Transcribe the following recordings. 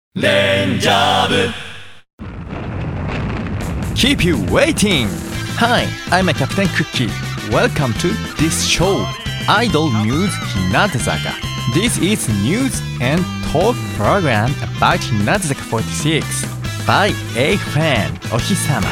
レンジャー部 Keep you waiting! Hi, I'm a Captain Cookie. Welcome to this show, Idol News Hinatazaka. This is news and talk program about Hinatazaka 46 by a fan, Ohisama.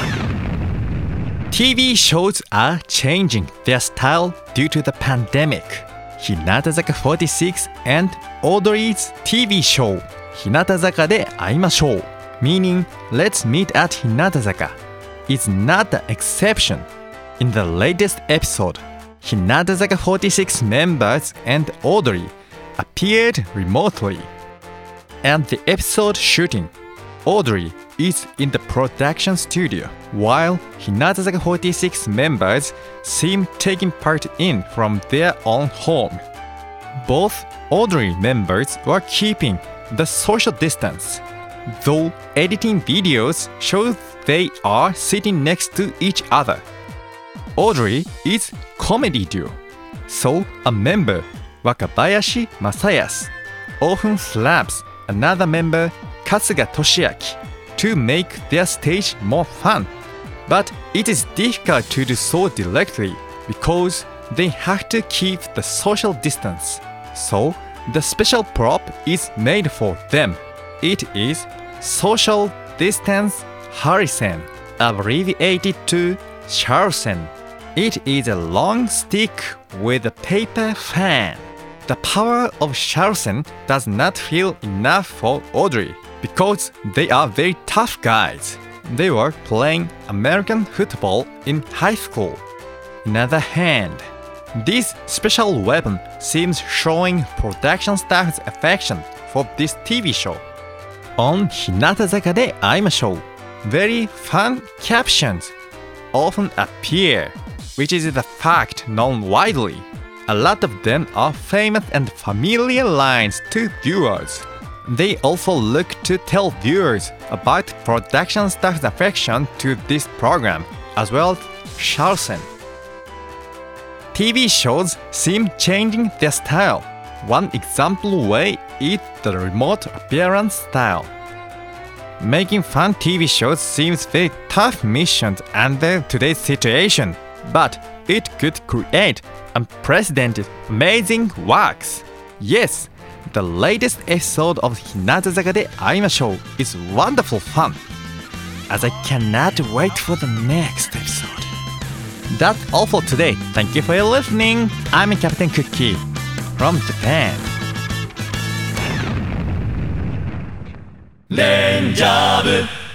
TV shows are changing their style due to the pandemic. Hinatazaka 46 and Audrey's TV show, Hinatazaka de aimashou, meaning let's meet at Hinatazaka, is not the exception. In the latest episode, Hinatazaka 46 members and Audrey appeared remotely. And the episode shooting, Audrey is in the production studio, while Hinatazaka 46 members seem taking part in from their own home. Both Audrey members were keeping the social distance, though editing videos show they are sitting next to each other. Audrey is comedy duo, so a member, Wakabayashi Masayas, often slaps another member, Kasuga Toshiaki, to make their stage more fun. But it is difficult to do so directly because they have to keep the social distance. So the special prop is made for them. It is Social Distance Harisen, abbreviated to Sharsen. It is a long stick with a paper fan. The power of Sharsen does not feel enough for Audrey because they are very tough guys. They were playing American football in high school. On the other hand, this special weapon seems showing production staff's affection for this TV show. On Hinatazaka de aimashou, very fun captions often appear, which is the fact known widely. A lot of them are famous and familiar lines to viewers. They also look to tell viewers about production staff's affection to this program, as well as Sharsen. TV shows seem changing their style. One example way is the remote appearance style. Making fun TV shows seems very tough mission under today's situation, but it could create unprecedented, amazing works. Yes, the latest episode of Hinatazaka de aimashou is wonderful fun, as I cannot wait for the next episode. That's all for today. Thank you for your listening. I'm Captain Cookie from Japan. レンジャー部